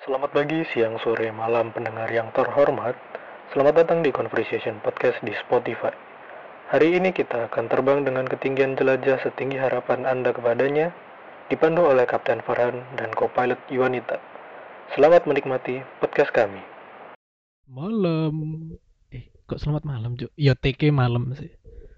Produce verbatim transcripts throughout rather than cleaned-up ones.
Selamat pagi, siang, sore, malam pendengar yang terhormat. Selamat datang di Conversation Podcast di Spotify. Hari ini kita akan terbang dengan ketinggian jelajah setinggi harapan Anda kepadanya, dipandu oleh Kapten Farhan dan co-pilot Yuanita. Selamat menikmati podcast kami. Malam. Eh, kok selamat malam, Cuk? Ya T K malam sih.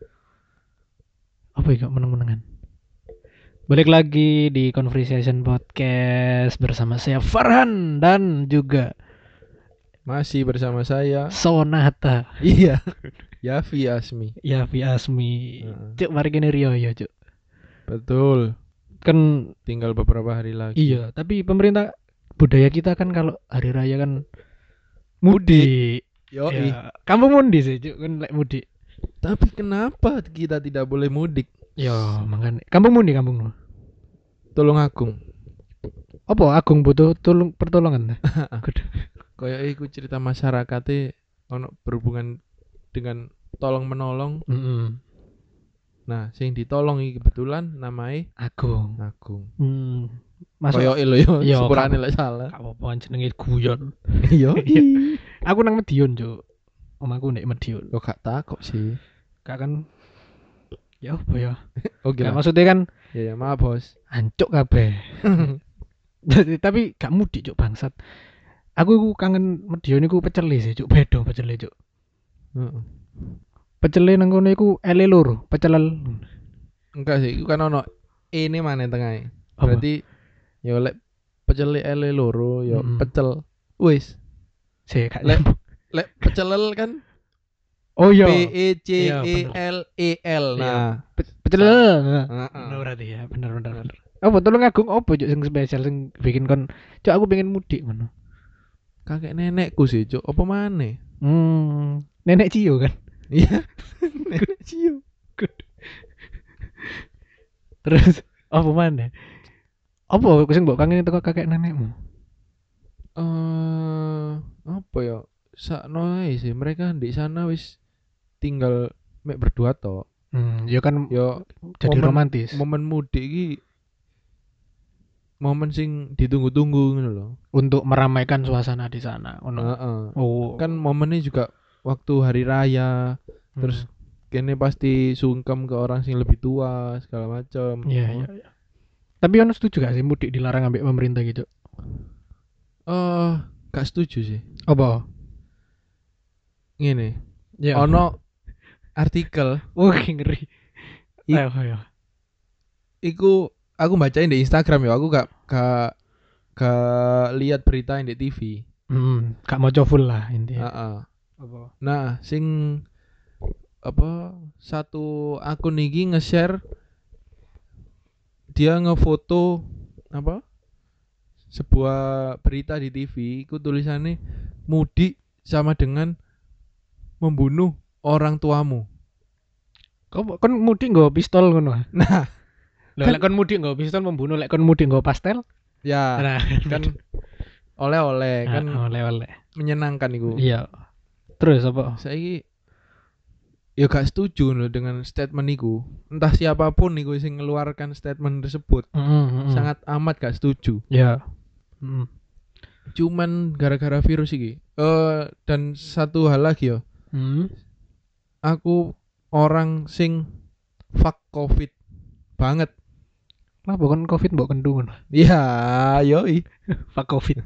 Apa ya, kok meneng-menengan? Balik lagi di Conversation Podcast bersama saya Farhan dan juga Masih bersama saya. Sonata. Iya. Yafi Asmi. Ya Vi Asmi. Heeh. Cuk, mari kene Rio ya, Cuk. Betul. Kan Tinggal beberapa hari lagi. iya, tapi pemerintah budaya kita kan kalau hari raya kan mudik. Yoi. Ya, kamu mudik sih, Cuk, kan lek mudik. Tapi kenapa kita tidak boleh mudik? Ya, makanya kampung mudik kampung no. Tolong Agung. Apa Agung butuh tolong pertolongan? Kayak iku cerita masyarakatnya ono berhubungan dengan tolong menolong. Mm-mm. Nah, sing ditolong iki kebetulan namanya Agung. Agung. Hmm. Masuk. Koyo lho yo, Iya, sepurane kak- lek salah. Gak apa-apa jenenge guyon. Yo. Aku nang Medion, Cuk. Omahku nek Medion. Yo gak takok sih. Kak kan ya apa ya? Oke Gak lah. maksudnya kan Ya ya, maaf bos. hancuk kabeh. Jadi tapi gak mudik, Cuk, bangsat. Aku iku kangen Medion iku pecele sih, Cuk. Bedo pecele, Cuk. Heeh. Pecele nang kono iku ele loro, pecelel. Enggak sih, iku kan ono ini mana tengahnya. Apa? Berarti yo lek pecel ele loro yo Mm-mm. pecel. Wis. Sih, gak Lek- nyambung. Lek pecelel kan Oh iya. P E C Iya, E bener. L E L. Nah, Pe- Pecelel. heeh. Bener berarti ya, bener bener bener. Apa tolong Agung apa Cuk sing spesial sing bikin kon Cuk aku pengen mudik ngono. Kakek nenekku sih, Cuk. Apa maneh? Hmm, nenek Cio kan. Iya. Nenek Cio. Terus apa mana? Apa sing mbok kangen teko kakek nenekmu? Eh, apa ya? Sakno ae sih, mereka di sana wis tinggal mek berdua tok. Hmm, ya kan Yo jadi momen- romantis. momen mudik iki momen sing ditunggu-tunggu ngono lho. Untuk meramaikan suasana di sana. Ngono. Heeh. Oh, Kan momennya juga waktu hari raya, terus hmm. kene pasti sungkem ke orang sing lebih tua segala macam. Iya iya iya. Tapi ono setuju gak sih mudik dilarang ambek pemerintah gitu? Eh, gak setuju sih. Apa? Ngene, Ya. ono artikel Oh, ngeri. I- Ayo ayo. iku aku bacain di Instagram ya, aku gak gak gak lihat berita di T V. Hmm, gak mau full lah intinya. Heeh. Apa? Nah, sing apa satu akun iki nge-share dia ngefoto apa sebuah berita di T V, iku tulisannya mudik sama dengan membunuh orang tuamu. Kau kan mudik nggo pistol ngono. Nah, Lah Kan- lek kon mudik nggo pistol membunuh, lek kon mudik nggo pastel. ya Nah, kan oleh-oleh kan oleh-oleh. menyenangkan iku. Iya. Terus apa? Saiki ya gak setuju loh dengan statement iku. Entah siapapun iku sing ngeluarkan statement tersebut, Mm, sangat amat gak setuju. ya. Mm. Cuman gara-gara virus iki. Eh dan satu hal lagi yo, Mm. aku orang sing fuck covid banget. Kenapa kon Covid mbok kendu ngono? Iya, yoi. Fuck Covid.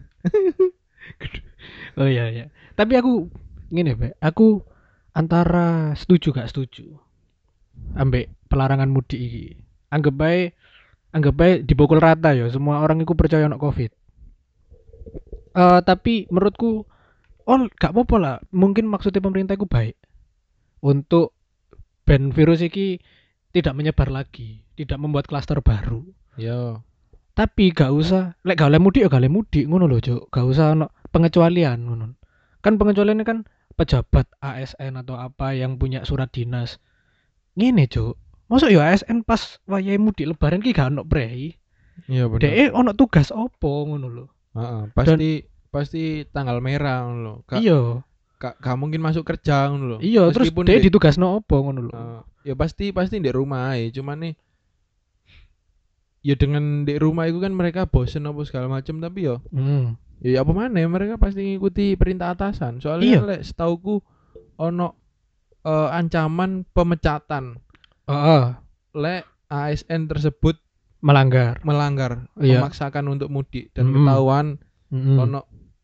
Oh iya iya. Tapi aku ngene, Be. Aku antara setuju gak setuju ambek pelarangan mudik iki. Anggap bae anggap bae dipukul rata ya, semua orang iku percaya ono Covid. Eh tapi menurutku oh gak apa-apa lah. Mungkin maksudnya pemerintah iku baik untuk ban virus iki tidak menyebar lagi, tidak membuat klaster baru. Yo. Tapi gak usah lek gak oleh mudik ya gak oleh mudik ngono lho, Cuk. Gak usah ono pengecualian ngono. Kan pengecualian ini kan pejabat A S N atau apa yang punya surat dinas. Ngene, Cuk. Masuk ya A S N pas wayahe mudik lebaran ki gak ono prei. Iya bener. Dek ono tugas opo ngono lho. Heeh, pasti pasti tanggal merah ngono lho. Gak, Iya. gak, gak mungkin masuk kerja ngono lho. Iya, terus Meskipun dek di- ditugasno opo ngono lho. Eh, ya pasti pasti di rumah aja, cuman nih ya dengan di rumah itu kan mereka bosen apa segala macam, tapi yo Hmm. Ya apa mana mereka pasti ngikuti perintah atasan. Soalnya Iya. kan lek setauku ono eh, ancaman pemecatan Heeh, lek A S N tersebut melanggar. melanggar, Iya. memaksakan untuk mudik dan Mm-mm. ketahuan Mm-mm. ono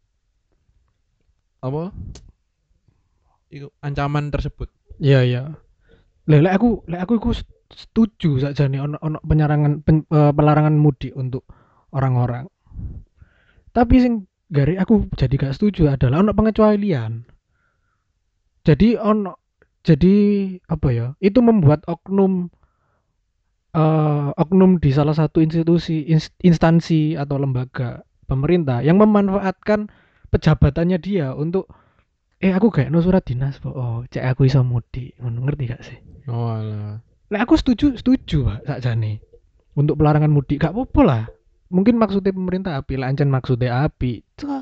apa? Iku ancaman tersebut. Iya, iya. Lah lek aku lek aku iku setuju sakjane ono ono penyarangan pen- eh, pelarangan mudik untuk orang-orang. Tapi sing gari aku jadi gak setuju adalah ono pengecualian. Jadi ono jadi apa ya? Itu membuat oknum eh, oknum di salah satu institusi ins- instansi atau lembaga pemerintah yang memanfaatkan pejabatannya dia untuk eh aku kayak no surat dinas po. Oh, cek aku iso mudik. Ngono, ngerti gak sih? Oh alah. Lah aku setuju, setuju Pak sakjane. Untuk pelarangan mudik gak apa-apa lah. Mungkin maksudnya pemerintah api lah, ancen maksudnya api. Cah.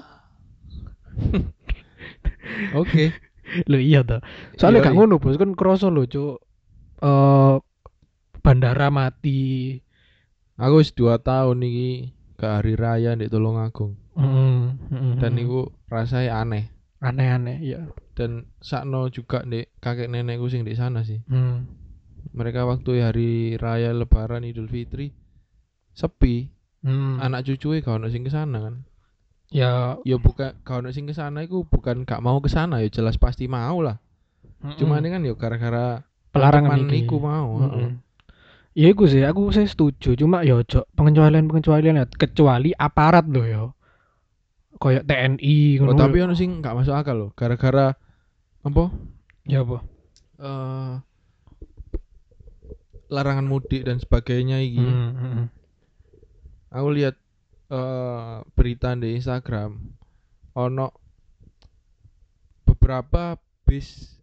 Oke. Loh iya toh. Soalnya Iya, gak iya. ngono bos, kan kroso lho cuk. Eh bandara mati. Aku wis dua tahun iki ke hari raya di Tulungagung Mm, mm, dan mm. iku rasanya aneh. Aneh-aneh ya. Dan sakno juga di kakek nenekku sing di sana sih. Hmm. Mereka waktu hari raya Lebaran Idul Fitri sepi. Hmm. Anak cucunya gak ono sing kesana kan. Ya. Ya bukan gak ono sing kesana iku bukan gak mau kesana ya jelas pasti mau lah. Mm-mm. Cuma ini kan ya gara-gara pelarangan ancaman iki. iku mau. Mm-mm. heeh. Ya iku sih, aku sih setuju. Cuma ya ojo pengecualian-pengecualian ya. Kecuali aparat loh ya. Kayak T N I Oh, ngono. tapi ono sing gak masuk akal loh. Gara-gara apa? Ya apa? eh larangan mudik dan sebagainya iki. Hmm, hmm, hmm. Aku lihat eh berita di Instagram ono beberapa bis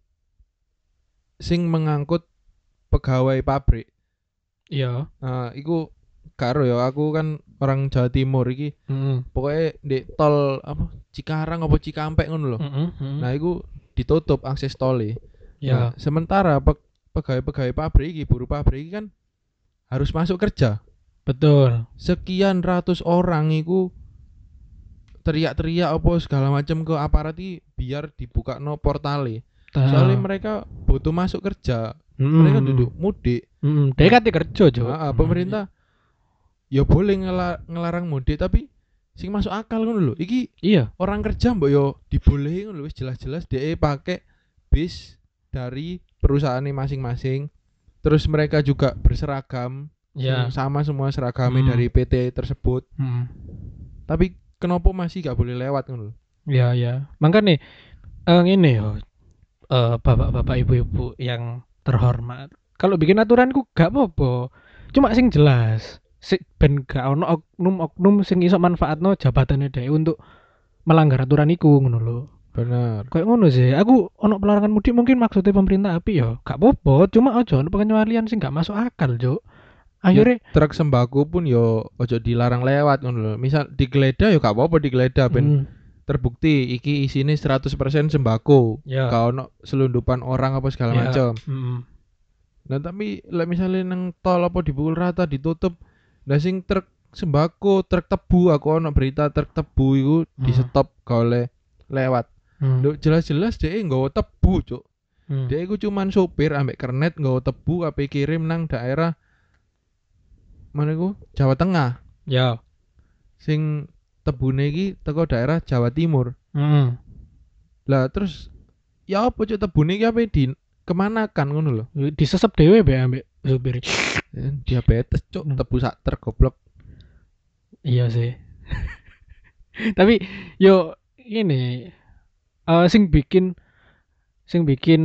sing mengangkut pegawai pabrik. Iya. Nah, iku karo ya aku kan orang Jawa Timur iki. Mm-mm. Pokoknya di tol apa Cikarang apa Cikampek ngono lho. Mm-mm, mm-mm. Nah, iku ditutup akses tolnya. Nah, Ya, sementara pe- pegawai-pegawai pabrik iki, buruh pabrik iki kan harus masuk kerja. betul. Sekian ratus orang iku teriak-teriak apa segala macam ke aparat iki biar dibuka no portale. Ta- Soalnya mereka butuh masuk kerja. Mm-mm. Mereka duduk mudik. Mm-mm. Dia kan kerja, Jo. Nah, pemerintah ya boleh ngela- ngelarang mudik tapi sing masuk akal ngono lho. Iki Iya, orang kerja mbok yo dibolehi ngono lho wis jelas-jelas dhek pakai bis dari perusahaannya masing-masing. Terus mereka juga berseragam ya. sing sama semua seragamnya Hmm. dari P T tersebut. Mm. Tapi kenapa masih gak boleh lewat ngono lho? Ya, ya. Makanya eh ngene yo. Eh bapak-bapak ibu-ibu yang terhormat. Kalau bikin aturanku gak apa-apa. Cuma sing jelas. Si ben gak ono oknum-oknum sing iso manfaatno jabatannya dhewe untuk melanggar aturan iku ngono lho. Bener. Kayak ngono sih. Aku ono pelarangan mudik mungkin maksudnya pemerintah api ya. Gak apa-apa, cuma aja ono pengecualian sing gak masuk akal, Cuk. Akhirnya Ya, truk sembako pun yo ojo dilarang lewat ngono lho. Misal digeledah yo gak apa-apa digeledah ben mm, terbukti iki isine seratus persen sembako. ya. Gak ono selundupan orang apa segala Ya. macam. Mm, Nah tapi lek misalnya nang tol apa dipukul rata ditutup, nah sing truk sembako, truk tebu aku ono berita truk tebu iku Hmm. di stop gak oleh lewat. mm, Lho jelas-jelas dhek nggawa tebu, Cuk. mm. Dhek iku cuman sopir ambek kernet nggawa tebu ape kirim nang daerah mana iku? Jawa Tengah. Ya. Sing tebune iki teko daerah Jawa Timur. Mm. Lah terus ya apa Cuk tebune iki ape di kemana kan ngono lho. Disesep dhewe be ambek supir. Eh, Diabetes Cuk, Hmm. tebu sak truk goblok. Iya sih. Tapi yo ini eh sing bikin sing bikin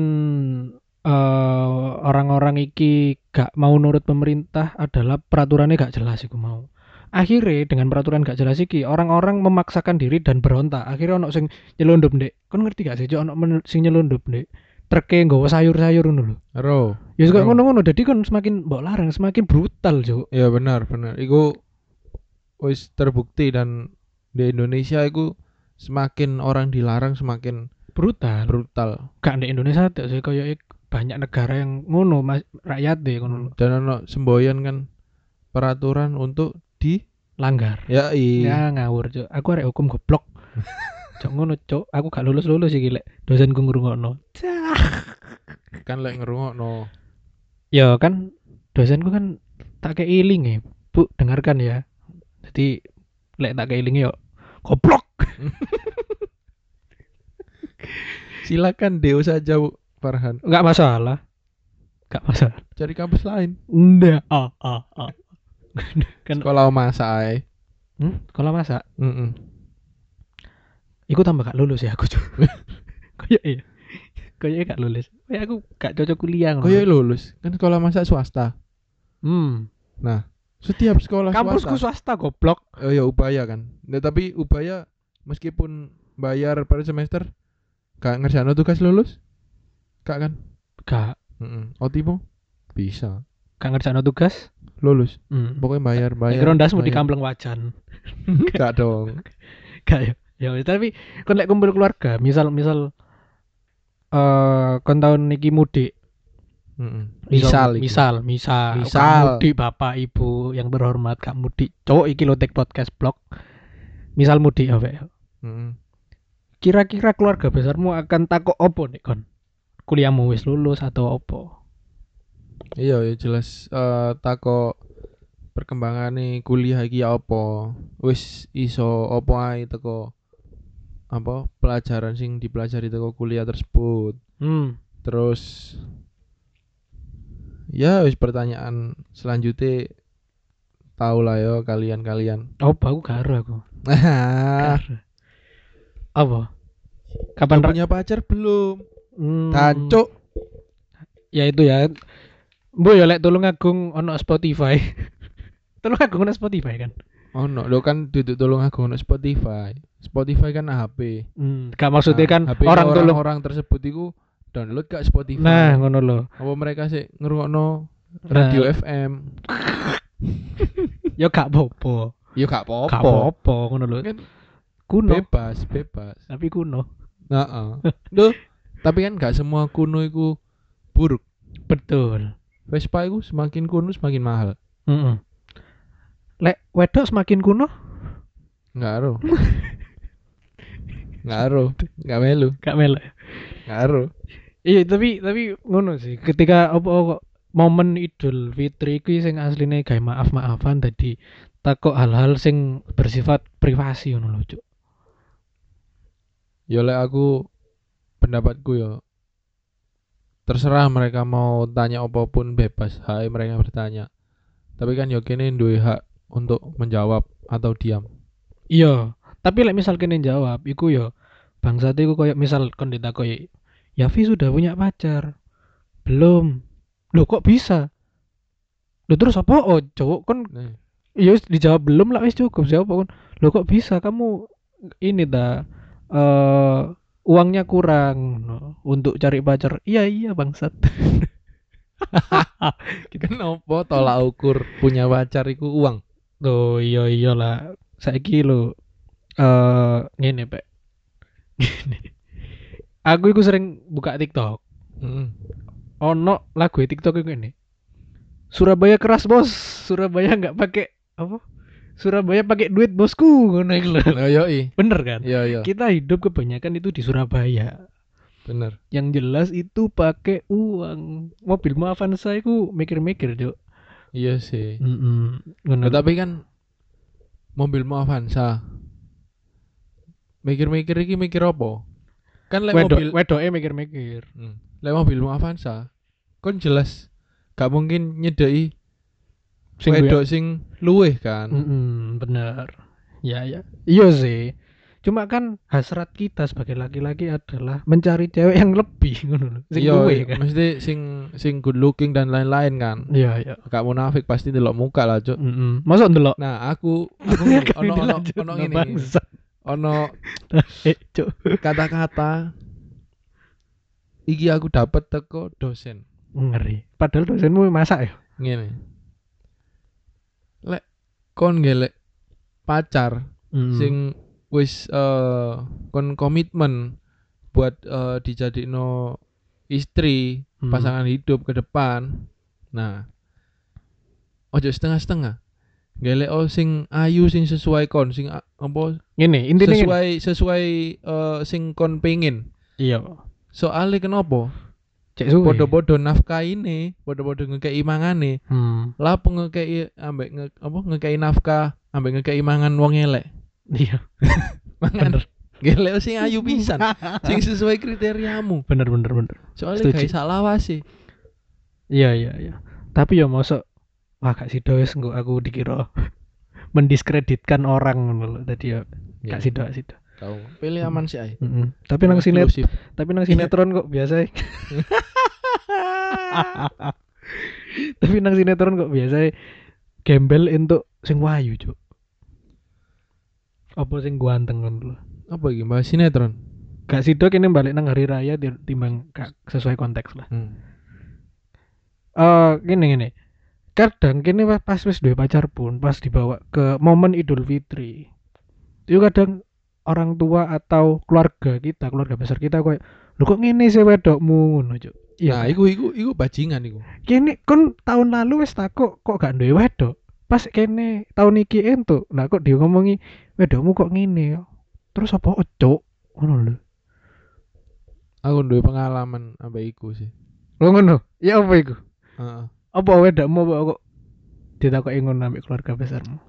eh orang-orang iki gak mau nurut pemerintah adalah peraturannya gak jelas iku mau. Akhirnya dengan peraturan gak jelas iki orang-orang memaksakan diri dan berontak. Akhirnya ono sing nyelundup, Ndek. Kon ngerti gak sih, Cuk, ono men- sing nyelundup, Ndek. Treke nggawa sayur-sayur ngono lho. Ero. Ya suka Oh. ngono-ngono dadi kon semakin mbok larang semakin brutal, Cuk. Ya benar, benar. Iku wis terbukti dan di Indonesia iku semakin orang dilarang semakin Brutal. brutal. Gak di Indonesia tak sih kayak banyak negara yang ngono mas rakyat deh ngono Dan ono semboyan kan peraturan untuk di langgar. ya i Ya ngawur, Cuk. Aku arek hukum goblok. Cok ngono, cok. Aku gak lulus-lulus iki lek dosenku ngrungokno. Kan lek ngerungokno. Ya kan dosenku kan tak kei link ya. Bu, dengarkan ya. Jadi lek tak kei link yo goblok. Silakan deo saja Bu Farhan. Enggak masalah. Enggak masalah. Cari kampus lain. Ndak. Ah, ah, ah. Kan Sekolah masak ae. hmm, kalau masak Heeh. iku tambah gak lulus ya aku cok. Kayak iya. Kayak gak lulus. Kayak aku gak cocok kuliah ngono. Koyo lulus. Kan sekolah masak swasta. Hmm. Setiap sekolah Kampusku swasta. swasta goblok. Oh ya Ubaya kan. Nah, tapi Ubaya meskipun bayar per semester gak ngerjain tugas lulus? Gak kan? Gak Heeh. Otimu bisa gak ngerjain tugas. lulus. Hmm. Pokoknya bayar bayar. Kira ndasmu di bayar. Kampleng Wajan. Gak dong. Gak ya. Ya wis, tapi kon lek kumpul keluarga, misal misal eh kon tahun niki mudik. Heeh. Misal Misal iki. misal misal Misal. gak mudik Bapak Ibu yang berhormat, gak mudik. Cowok iki lo take podcast blog. Misal mudik apa? Heeh. Kira-kira keluarga besarmu akan takok opo nek kon? Kuliahmu wis lulus atau opo? Iya ya jelas eh tako perkembangane kuliah iki ya apa? Wis iso apa ae teko apa pelajaran sing dipelajari teko kuliah tersebut. Hmm. Terus ya wis pertanyaan selanjutnya tahu lah yo kalian-kalian. Opo aku gak ero aku. Ah, Gak ero. Apa? Kapan udah ra- punya pacar belum? Hmm. Tancuk. Ya itu ya. Bu ya lek tolong agung ono Spotify. Tolong agung ono Spotify kan. Oh no, lo kan duduk tolong aku ono Spotify. Spotify kan H P. Hmm, gak maksudnya Nah, kan H P orang tolong. orang tersebut itu download gak Spotify. Nah, ngono lho. Apa mereka sih ngerungokno radio Nah, F M? ya gak apa-apa. Ya gak Gak apa-apa. apa-apa ngono lho. Kan Kuno, bebas, bebas. tapi kuno. Heeh. Duh, tapi kan gak semua kuno itu buruk. Betul. Vespa itu semakin kuno semakin mahal. Heeh. Lek wedok semakin kuno, Enggak ero. Enggak ero, enggak melu, gak melok. enggak ero. Iya, tapi tapi ngono sih. Ketika apa kok momen Idul Fitri kuwi sing asline gawe maaf-maafan dadi takok hal-hal sing bersifat privasi ngono lho, Cuk. Ya lek aku pendapatku ya terserah mereka mau tanya apapun bebas, hak mereka bertanya. Tapi kan yo kene duwe hak untuk menjawab atau diam. Iya, tapi lek misal kene jawab iku yo bangsat iku koyo misal kon ditakoki, "Yafi sudah punya pacar?" "Belum." "Loh kok bisa?" "Loh terus apa?" "Oh, cowok kon Nih, iya wis dijawab belum lah wis cukup jawab kon." "Loh kok bisa kamu ini ta eh uangnya kurang no, untuk cari pacar?" "Iya iya bangsat." kenapa tolak ukur punya pacar iku uang? Tuh iya iyalah saiki lho eh ngene Pak. Gini. Aku iku sering buka TikTok. Heeh. Ono lagu TikTok iku ini. Surabaya keras bos, Surabaya nggak pakai apa? Surabaya pakai duit bosku ngono iku lho. Oh yoi. Bener kan? Iya iya. Kita hidup kebanyakan itu di Surabaya. Bener. Yang jelas itu pakai uang. Mobil Avanza iku mikir-mikir, Cuk. Iya sih. Heeh. Ngono. Nah, tapi kan mobilmu Avanza. Mikir-mikir iki mikir apa? Kan lek wedok, mobil wedoke mikir-mikir. Hmm. Lek mobilmu Avanza, kon jelas gak mungkin nyedeki Sing wedok sing luweh kan. Mm-mm, bener. Ya ya. Iya sih. Cuma kan hasrat kita sebagai laki-laki adalah mencari cewek yang lebih ngono lho. Sing Iya, luwe kan. mesti sing sing good looking dan lain-lain kan. Iya iya. Gak munafik pasti delok muka lah, Cuk. Heeh. Mosok ndelok. Nah, aku aku ngene, ono ono ono ngene. Bangsa. Ono Eh, Cuk. kata-kata iki aku dapat teko dosen. Ngeri. Padahal dosenmu masak ya. Ngene. Lek kon gelek pacar Mm. sing wis eh kon komitmen buat eh, dijadikno istri, Hmm. pasangan hidup ke depan. Nah, ojo setengah-setengah. Gelek oh sing ayu sing sesuai kon sing a- apa Ngene, intine ngene. sesuai sesuai eh, sing kon pengin. Iya. Soale kenapa? Cek suwe. Podo-podo nafkahine, podo-podo ngekei mangane. Hmm. Lah apa ngekei ambek nge, apa ngekei nafkah ambek ngekei mangan wong elek. Iya. Mangan Bener. gelek sing ayu pisan, sing sesuai kriteriamu. Bener bener bener. Soalnya Setuju. gak salah sih. Iya iya iya. Tapi ya mosok wah gak sido wis engko aku dikira mendiskreditkan orang ngono lho. Dadi ya gak sido gak sido. Kau pilih aman sih ay. Heeh. Tapi nang sinet Eksklusif. tapi nang sinetron kok biasa. Tapi nang sinetron kok biasa gembel entuk sing wayu, Cuk. Apa sing ganteng ngono lho. Apa iki bahas sinetron? Gak sido kene balik nang hari raya ti- timbang gak sesuai konteks lah. Hmm. Eh gini gini. Kadang kene wa- pas wis duwe pacar pun pas dibawa ke momen Idul Fitri. Itu kadang orang tua atau keluarga kita, keluarga besar kita koyo lho kok ngene sih wedokmu ngono, Cuk. Nah, Iya. iku iku iku bajingan iku. Kene kon tahun lalu wis takok kok gak duwe wedok. Pas kene tahun iki entuk. Lah kok dia ngomongi wedokmu kok ngene. Terus apa Cuk? Ngono lho. Aku duwe pengalaman ambek iku sih. Oh ngono. Ya apa iku? Heeh. Apa wedokmu apa kok ditakoki ngono ambek keluarga besarmu?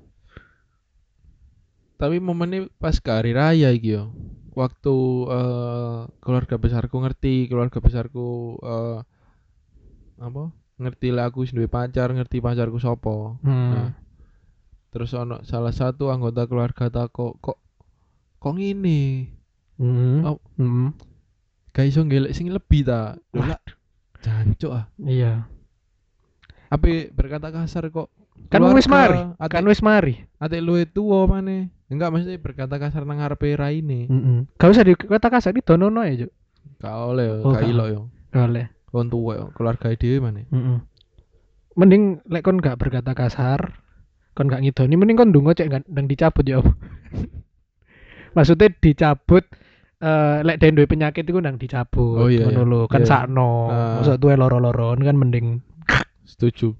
Tapi momennya pas ke hari raya iki yo. Waktu eh, keluarga besarku ngerti, keluarga besarku eh, apa? Ngerti lah aku wis duwe pacar, ngerti pacarku sapa. Hmm. Nah, terus ono salah satu anggota keluarga takok kok kok ngene. Hmm. Oh. Hmm. Gak iso ngelek sing lebih ta. Lah jancuk ah. Iya. Ape berkata kasar kok. Kan wis mari. Ate, Kan wis mari. ate luwe tuwa maneh. Enggak maksudnya berkata kasar nang ngarepe raine. Heeh. Gak usah dikata kasar di donono ya, Cuk. Gak oleh yo, Oh, gak gak. ilok yo. Oleh. Kon tuwa yo, keluarga dhewe maneh. Heeh. Mending lek kon gak berkata kasar, kon gak ngidoni, mending kon ndonga cek gak ndang dicabut ya. Apa? Maksudnya dicabut eh lek den duwe penyakit iku ndang dicabut. Oh, iya, Ngono iya. lho, kan Iya. sakno. Ah. Mosok tuwe loro-loron kan mending Setuju.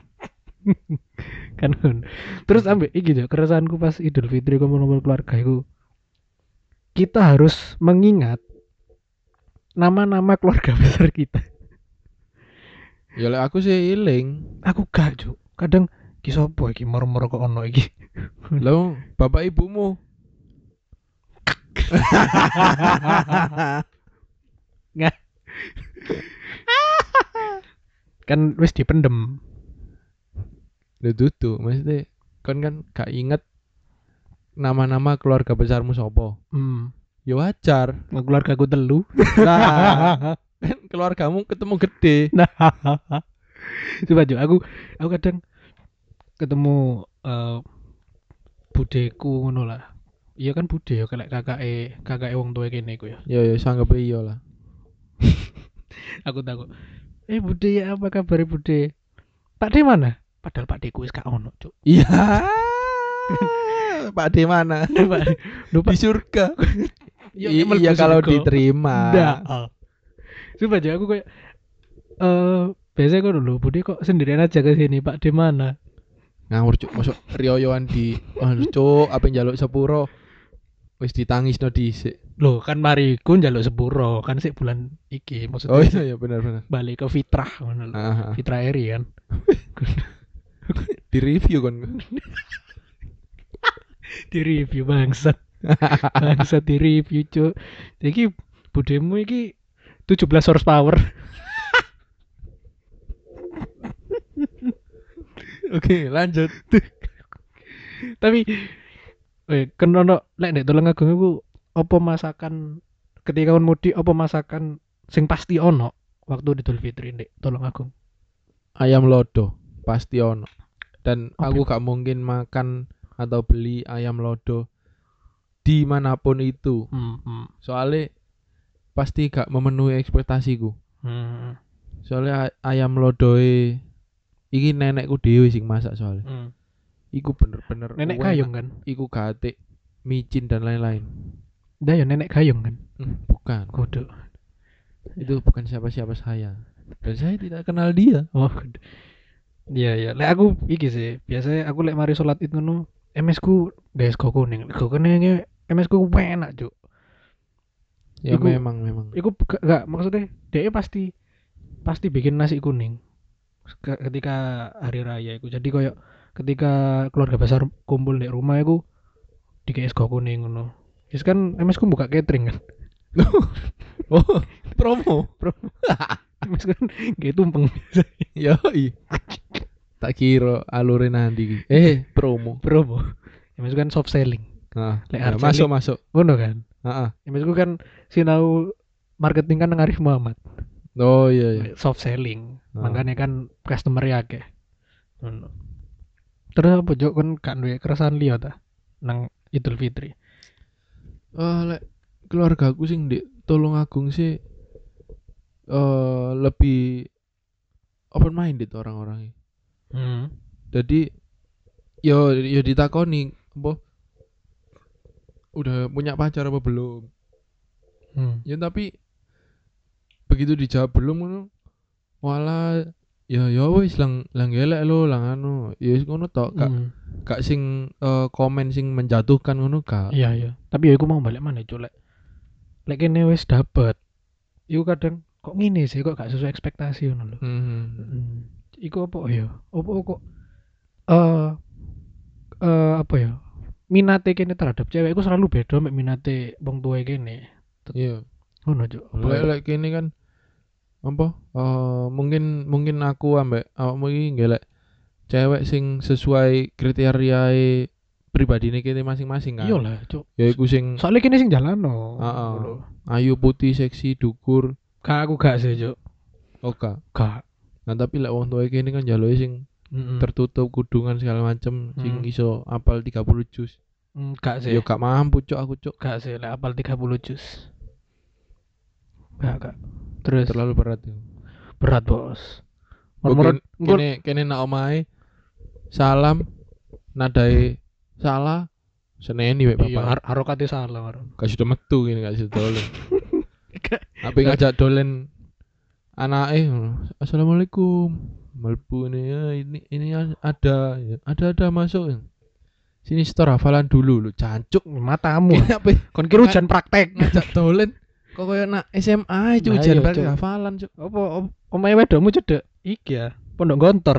kan ngono. Terus ambek iki yo keresahanku pas Idul Fitri kumpul-kumpul keluarga iku. Kita harus mengingat nama-nama keluarga besar kita. Ya lek aku sih iling. Aku gak, Cuk. Kadang ki sapa iki moro-moro kok ono iki. Lho, bapak ibumu. Kan wis dipendem. Lho dudu, maksudnya kon kan gak inget nama-nama keluarga besarmu sapa. Hmm. Ya wajar. Keluarga ku telu. Nah, kan keluargamu ketemu gede. Nah. Coba Cuk, aku aku kadang ketemu eh budeku ngono lah. Iya kan bude ya kayak kakake kakake wong tuwa kene iku ya. Ya ya sanggep iya lah. Aku takut. Eh bude ya apa kabar bude? Pak De mana? Padahal Pak Deku wis gak ono, Cuk. Iya. Pak di mana? Pak lupa. Di surga. Ya, I- mlebu iya kalau surga. diterima. Ndak. Coba aja aku kayak eh biasanya kok dulu bude kok sendirian aja ke sini Pak De mana? Ngawur cuk, masuk rioyoan di anu cuk, apa njaluk sepuro. Wis ditangisno dhisik. Loh kan mari ku njaluk sepuro kan sik bulan iki maksudnya Oh iya ya benar benar. balik ke fitrah ngono lho. Ah, ah. Fitrah Eri kan. Di review kan. Di review bangsat. Bangsat di review cuk. Iki budemu iki tujuh belas horsepower. Oke, lanjut. Tapi eh kenono lek nek Tulung Agung iku apa masakan ketika kon mudik apa masakan sing pasti ono waktu Idul Fitri ndek Tulung Agung. Ayam lodo pasti ono. Dan Apa aku gak mungkin makan atau beli ayam lodo dimanapun itu. Hmm. hmm. Soalnya pasti gak memenuhi ekspektasiku. hmm. Soalnya ay- ayam lodoe iki nenekku dhewe sing masak soalnya. hmm. Iku bener-bener Nenek enak. gayung kan? Iku gatik, micin dan lain-lain. Dah ya nenek gayung kan? Hmm, bukan. Kudu. Itu bukan siapa-siapa saya. Dan saya tidak kenal dia. Oh, kudu. Iya iya. Lek aku iki sih, biasanya aku lek mari salat Id ngono, M S ku guys go kuning. Go kuning M S ku enak, Cuk. Ya Iku memang memang. iku gak, gak maksudnya dia pasti pasti bikin nasi kuning ke- ketika hari raya iku. Jadi koyo ketika keluarga besar kumpul di rumah iku di go kuning ngono. Wis kan M S ku buka catering kan. Oh, promo. Bro, M S kan gak tumpeng. Yo, tak kira alure nanti iki. Eh, promo. Bro, M S ku kan soft selling. Nah, Lek ya, hard masuk selling masuk. ngono kan. Heeh. M S ku kan sinau marketing kan nang Arif Muhammad. Oh iya iya. Soft selling. Ah. Makanya kan customer ya akeh. Ngono. Terus apa Jok kan gak duwe keresahan liya ta nang Idul Fitri. Eh lek keluarga aku sing di Tulungagung sih eh lebih open minded orang-orangnya. Hmm. Jadi yo yo ditakoni apa udah punya pacar apa belum? Hmm. Ya tapi begitu dijawab belum ngono wala ya ya wis lang lang gelek lo lang anu ya wis ngono tok gak Hmm. gak sing eh, komen sing menjatuhkan ngono gak. Iya iya. Tapi ya iku mau balik mana Cuk lek lek kene wis dapet. Iku kadang kok ngene sih kok gak sesuai ekspektasi ngono lho. Hmm. Hmm. Iku apa ya? Apa kok eh eh apa ya? Minate kene terhadap cewek iku selalu beda mek minate wong tuwa kene. Iya. Ngono Cuk. Apa Lek ya? lek kene kan apa eh mungkin mungkin aku ambek awakmu iki ngelek cewek sing sesuai kriteria pribadine kene masing-masing kan. Iya lah Cuk. Ya iku sing Soalnya kene sing jalano. heeh. Ngono. Ayu putih seksi dukur Gak aku gak sih Cuk. oka. Gak. Nah tapi lek wong tuwa kene kan jaluke sing Mm-mm. tertutup kudungan segala macem sing Hmm. iso apal tiga puluh juz. Mm, gak sih. Yo gak mampu cuk aku cuk. Gak sih lek apal tiga puluh juz. Gak gak. Terus Terlalu berat itu. berat bos. Mungkin Moro-moro kene kene nak omahe salam nadai salah seneni wek iya bapak. har harokate salah karo. Gak sudah metu gini gak sudah dolen. Apa ngajak dolen anake assalamualaikum melbu ini ya ini ini ada ya. ada ada masuk sini store hafalan dulu lu cancuk Matamu. apa Kon kira ujian praktek. ngajak dolen kok koyo nak S M A itu Nah, ujian iya, balik Cuk. hafalan cuk. Apa om- omahe wedokmu cedek iki ya. Pondok Gontor.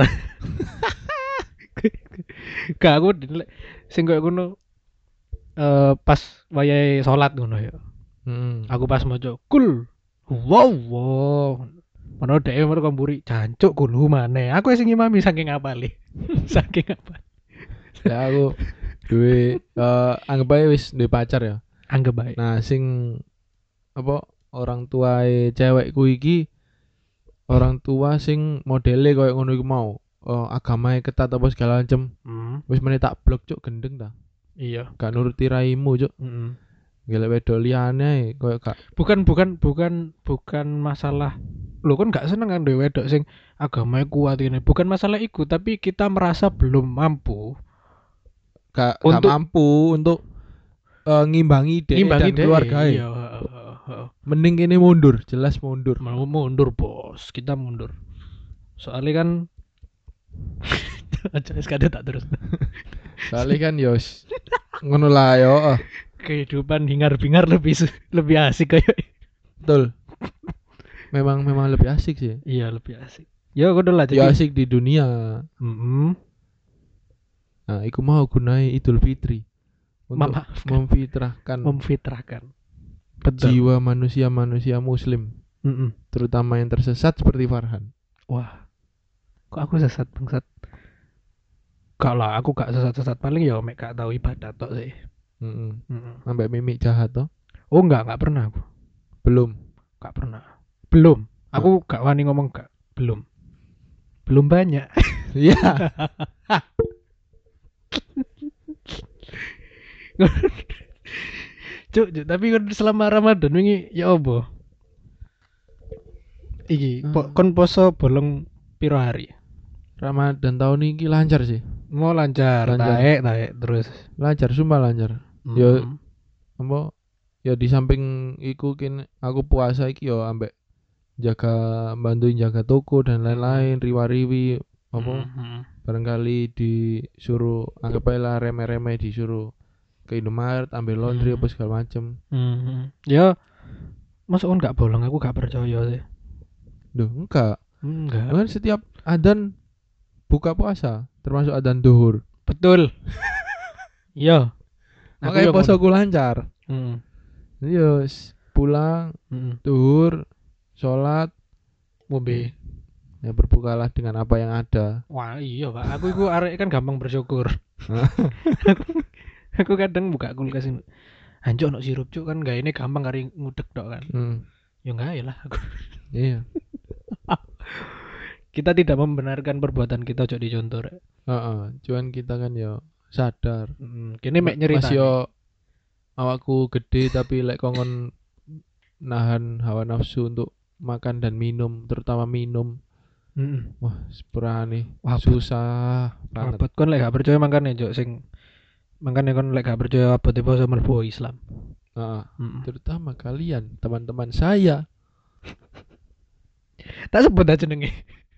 Gak aku di- sing koyo ngono eh pas wayahe salat ngono ya. Hmm. Aku pas maca kul. Wow, wow. Mana dhewe mergo kamburi jancuk kulu maneh. Aku sing ngimami saking apale. Saking apa? Ya aku duwe eh anggap aja wis duwe pacar ya. Anggap baik. Nah, sing apa orang tuae cewekku iki orang tua sing modele koyo ngono iku mau. Oh, agamae ketat apa segala macem. Hmm, Wis meneh tak blok cuk gendeng ta. iya. Gak nuruti raimu cuk. Mm-mm. Gelek wedok liyane koyo gak Bukan bukan bukan bukan masalah lo kan gak seneng kan dhewe wedok sing agamanya kuat ini. Bukan masalah iku, tapi kita merasa belum mampu gak, gak Untuk- mampu untuk eh, ngimbangi dek ngimbangi dan dhewe. keluarga. Iya, heeh, heeh, heeh. Mending kene mundur, jelas mundur. Mau mundur, Bos. Kita mundur. Soalnya kan aja sekadar tak terus. Soalnya kan yos ngono lah yo. eh. Kehidupan hingar-bingar lebih su- lebih asik kayak. Betul. Memang memang lebih asik sih. Iya, lebih asik. Ya udah lah Ya jadi. asik di dunia. Mm-mm. Nah, iku mau gunai Idul Fitri untuk Memaafkan. memfitrahkan Memfitrahkan. Betul. jiwa manusia-manusia muslim, Mm-mm. terutama yang tersesat seperti Farhan. Wah, kok aku sesat bangsat? Gak lah, aku gak sesat-sesat, paling ya mek gak tahu ibadah tok sih. Mm-mm. Mm-mm. Sampai mimik jahat toh? Oh enggak, enggak pernah aku. Belum. Gak pernah. Belum. Aku gak wani ngomong gak. Belum. Belum banyak. Iya. Cuk, cuk, tapi kan selama Ramadan wingi ya apa? Iki, po, Hmm. kon poso bolong piro hari? Ramadan tahun ini lancar sih. Mau lancar, Lancar. taek, taek terus. Lancar, sumpah lancar. Mm. Yo. Apa? Ya di samping iku kin aku puasa iki yo ambek jaga bantuin jaga toko dan lain-lain riwa-riwi apa Mhm. barangkali disuruh anggap aja lah remeh-remeh disuruh ke Indomaret ambil laundry Hmm. apa segala macem. Mhm. Ya, masuk kan gak bolong, aku gak percaya sih. Duh, enggak. Enggak. Kan setiap adzan buka puasa termasuk adzan duhur. Betul. Iya. Aku Makanya yang ngono. posoku lancar. Heeh. Iya, wis pulang Heeh. duhur, sholat, Ngombe. ya berbukalah dengan apa yang ada. Wah, iya, Pak. Aku iku arek kan gampang bersyukur. Aku kadang buka kulkas ini. Anjuk ono sirup cuk kan gak ini gampang kari ngudek tok kan. Hmm, Ya enggak ya lah aku. iya. Kita tidak membenarkan perbuatan kita cuk dicontoh rek. Heeh, cuman kita kan ya sadar. Hmm, kene mek Ma- nyerita. Mas yo awakku gede tapi lek kongon nahan hawa nafsu untuk makan dan minum, terutama minum. Heeh. Wah, sepurane Wah, susah banget. abot kon lek gak percaya mangkane cuk sing mangkane kon lek gak percaya abot poso mlebu Islam. Heeh. Heeh. Terutama kalian, teman-teman saya. Tak sebut aja jenenge.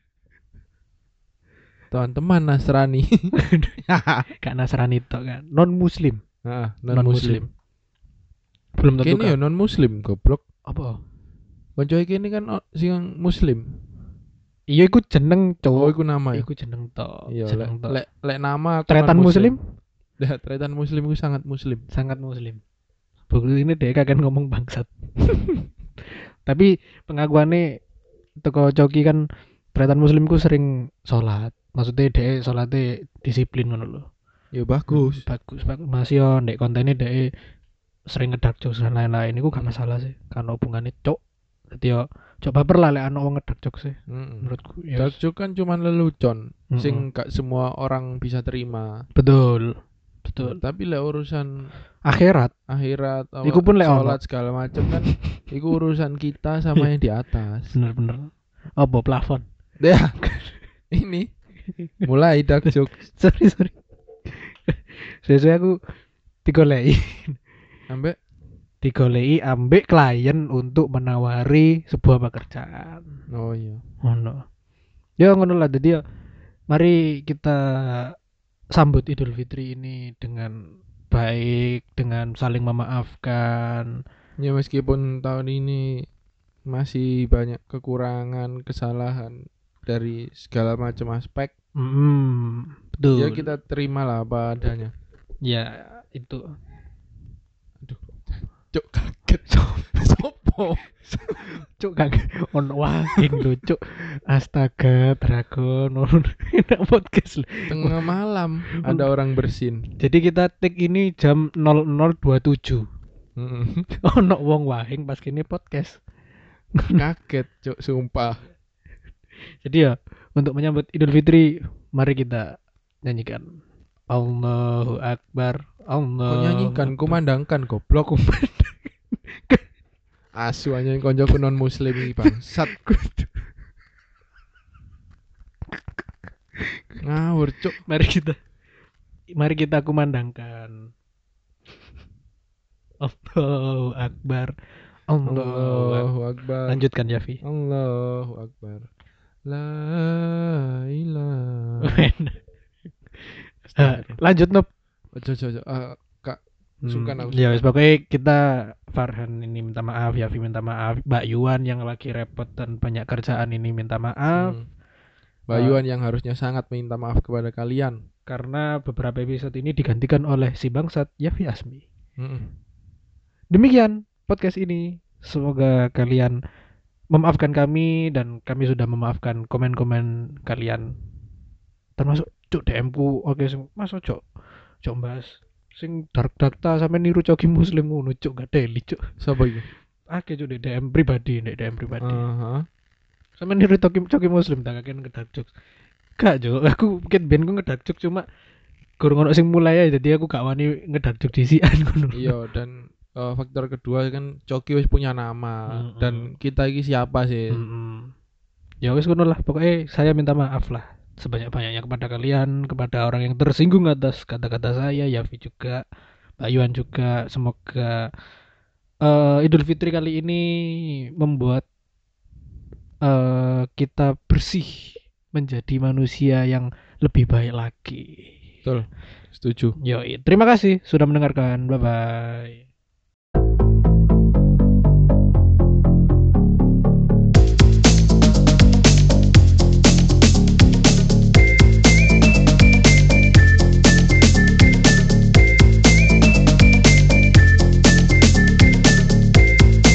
Teman-teman Nasrani. Gak Nasrani tok kan. Non muslim. Heeh, non muslim. Belum tentu Kene yo kan. non muslim goblok. Apa? Koncoe kene kan o- sing muslim. Iya iku jeneng Oh, cowok. iku nama ya. Iku jeneng tok. Iya, lek Jeneng tok. lek lek nama aku Tretan non muslim? Dah, tretan muslim iku sangat muslim. Sangat muslim. Bukti ini dia kagak ngomong bangsat. Tapi pengakuannya teko Coki kan tretan muslimku sering sholat. Maksudnya dia sholatnya disiplin ngono lho. Ya bagus. Hmm, bagus, bagus. Mas yo ndek kontennya dia sering ngedark jokes dan lain-lain. Iku gak Hmm. masalah sih. Karena hubungannya cok. Jadi yo coba baper lah lek ana wong ngedark jokes sih. Mm-mm. Menurutku ya. Dark joke kan cuman lelucon, Mm-mm. sing gak semua orang bisa terima. Betul. Betul. Tapi lek urusan Akhirat. akhirat, apa, Iku pun lek ono. sholat segala macam kan, iku urusan kita sama yang di atas. Bener-bener. Apa plafon? Ya, ini mulai dark joke. sorry sorry. Sesuai aku digoleki. Sampai Digoleki ambek klien untuk menawari sebuah pekerjaan. oh iya. Ngono. Ya ngono lah jadi ya mari kita sambut Idul Fitri ini dengan baik, dengan saling memaafkan. Ya meskipun tahun ini masih banyak kekurangan, kesalahan dari segala macam aspek, Hmm, betul. ya kita terima lah apa adanya. Ya itu. Cuk kaget. Sopo? Cuk kang ono wahing lho cuk. Astaga, dragon ono enak podcast lho. Tengah malam ada orang bersin. Jadi kita take ini jam nol nol dua puluh tujuh. Mm-mm. Ono wong wahing pas kene podcast. Kaget cuk sumpah. Jadi ya untuk menyambut Idul Fitri mari kita nyanyikan Allahu Akbar. Allah. Kok nyanyikan kumandangkan goblok. Asu aja yang koncoku non muslim iki bangsat. Ngawur cuk. Mari kita mari kita kumandangkan Allahu Akbar. Allah. Allahu Akbar. Lanjutkan Yafi. Allahu Akbar. La ilaha. Ah, lanjut Nop. Ojo ojo ojo. Ah, Kak, sungkan aku. Ya wis pokoknya kita Farhan ini minta maaf, Yafi minta maaf, Mbak Yuan yang lagi repot dan banyak kerjaan ini minta maaf. Hmm. Mbak Yuan yang harusnya sangat minta maaf kepada kalian. Karena beberapa episode ini digantikan oleh si bangsat Yafi Asmi. Mm-mm. Demikian podcast ini. Semoga kalian memaafkan kami dan kami sudah memaafkan komen-komen kalian. Termasuk cuk D M ku oke sing Mas ojo ojo bahas sing dark data sampe niru coki muslim ngono cuk gak deli cuk. Siapa itu? Oke cuk di D M pribadi, di D M pribadi. Aha. Sampe niru coki coki muslim tak kakek ngedark jokes. Gak cuk, aku mungkin ben ku ngedark jokes cuma kurang ono sing mulai ya jadi aku gak wani ngedark jokes disian ngono. Iya dan uh, faktor kedua kan Coki wis punya nama Mm-mm. dan kita ini siapa sih? Mm-mm. Ya wis ngono lah, pokoknya saya minta maaf lah sebanyak-banyaknya kepada kalian, kepada orang yang tersinggung atas kata-kata saya, Yafi juga, Pak Yuan juga. Semoga uh, Idul Fitri kali ini membuat uh, kita bersih menjadi manusia yang lebih baik lagi. Betul. Setuju. Yo, terima kasih sudah mendengarkan. Bye bye.